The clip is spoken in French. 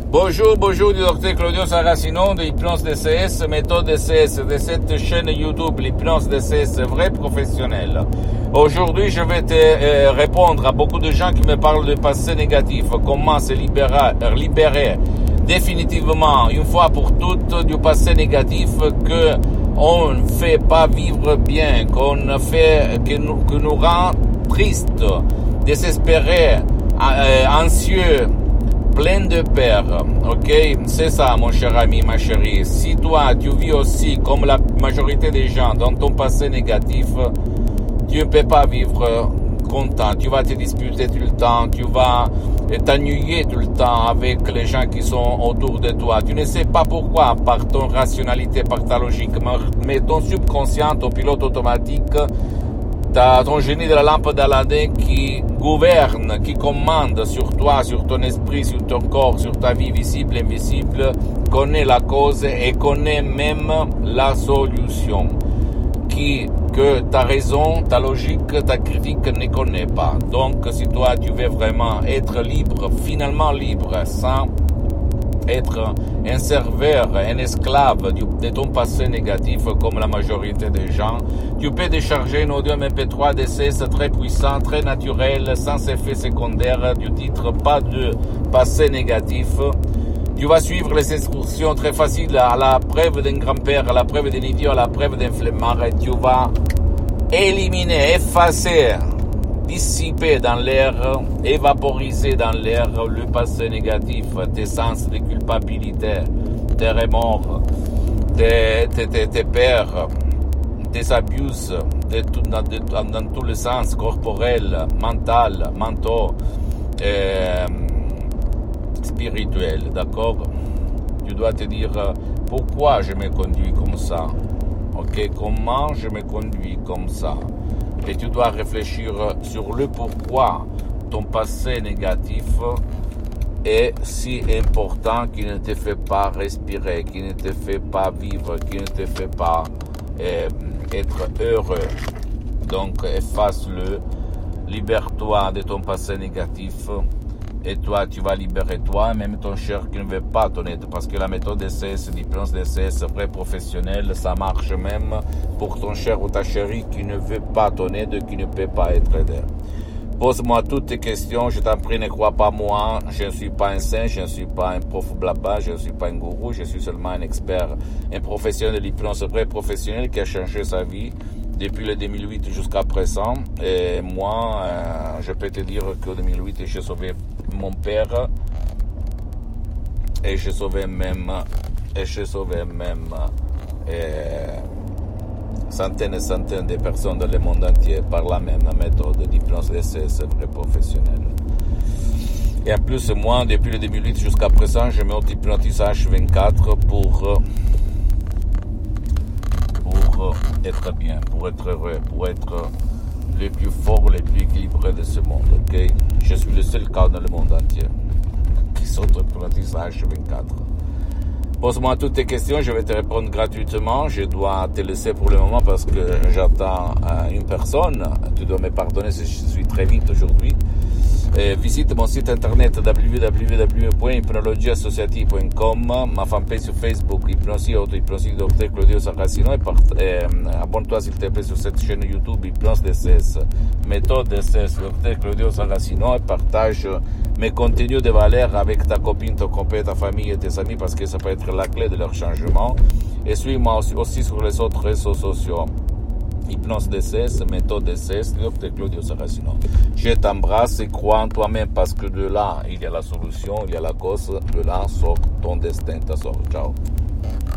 Bonjour du docteur Claudio Saracino de Hypnose DCS, méthode DCS de cette chaîne YouTube, l'Hypnose DCS vrai professionnel. Aujourd'hui, je vais te répondre à beaucoup de gens qui me parlent de passé négatif, comment se libérer définitivement, une fois pour toutes, du passé négatif que on ne fait pas vivre bien, que nous rend tristes, désespérés, anxieux, plein de peur, ok? C'est ça, mon cher ami, ma chérie. Si toi, tu vis aussi, comme la majorité des gens, dans ton passé négatif, tu ne peux pas vivre content. Tu vas te disputer tout le temps, tu vas t'ennuyer tout le temps avec les gens qui sont autour de toi. Tu ne sais pas pourquoi, par ton rationalité, par ta logique, mais ton subconscient, ton pilote automatique, t'as ton génie de la lampe d'Aladin qui gouverne, qui commande sur toi, sur ton esprit, sur ton corps, sur ta vie visible et invisible, connaît la cause et connaît même la solution, que ta raison, ta logique, ta critique ne connaît pas. Donc, si toi, tu veux vraiment être libre, finalement libre, sans être un serveur, un esclave de ton passé négatif comme la majorité des gens, tu peux décharger un audio MP3 DCS très puissant, très naturel, sans effet secondaire, du titre pas de passé négatif. Tu vas suivre les instructions très faciles à la preuve d'un grand-père, à la preuve d'un idiot, à la preuve d'un flemmard, et tu vas éliminer, effacer, dissiper dans l'air, évaporiser dans l'air le passé négatif, tes sens de culpabilité, tes remords, tes peurs, tes abus, dans tous les sens, corporel, mental, mentaux, spirituel, d'accord? Tu dois te dire pourquoi je me conduis comme ça, ok? Comment je me conduis comme ça? Et tu dois réfléchir sur le pourquoi ton passé négatif est si important, qui ne te fait pas respirer, qui ne te fait pas vivre, qui ne te fait pas être heureux. Donc efface-le, libère-toi de ton passé négatif et toi tu vas libérer toi, même ton cher qui ne veut pas ton aide, parce que la méthode DCS, l'hypnose DCS vrai professionnel, ça marche même pour ton cher ou ta chérie qui ne veut pas ton aide, qui ne peut pas être aidé. Pose-moi toutes tes questions, je t'en prie, ne crois pas moi, je ne suis pas un saint, je ne suis pas un prof blabla, je ne suis pas un gourou, je suis seulement un expert, un professionnel de l'hypnose vrai professionnel qui a changé sa vie depuis le 2008 jusqu'à présent. Et moi, je peux te dire qu'en 2008, j'ai sauvé mon père et j'ai sauvé même centaines et centaines de personnes dans le monde entier par la même méthode d'hypnose DCS vrai professionnel. Et en plus, moi, depuis le 2008 jusqu'à présent, je m'auto-hypnotise H24 pour être bien, pour être heureux, pour être le plus fort, le plus équilibré de ce monde, ok? Je suis le seul cas dans le monde entier qui s'auto-hypnotise H24. Pose-moi toutes tes questions, je vais te répondre gratuitement. Je dois te laisser pour le moment parce que j'attends une personne. Tu dois me pardonner si je suis très vite aujourd'hui. Visite mon site internet www.hypnologieassociative.com, ma fanpage sur Facebook, Hypnosie, Auto-Hypnosie, Dr Claudio Saracino, et abonne-toi s'il te plaît sur cette chaîne YouTube Hypnose DCS, méthode DCS, Dr Claudio Saracino, et partage mes contenus de valeur avec ta copine, ton copain, ta famille et tes amis, parce que ça peut être la clé de leur changement. Et suis-moi aussi sur les autres réseaux sociaux. Hypnose DCS, méthode DCS, Dr Claudio Saracino. Je t'embrasse et crois en toi-même parce que de là, il y a la solution, il y a la cause, de là sort ton destin, ta sort. Ciao.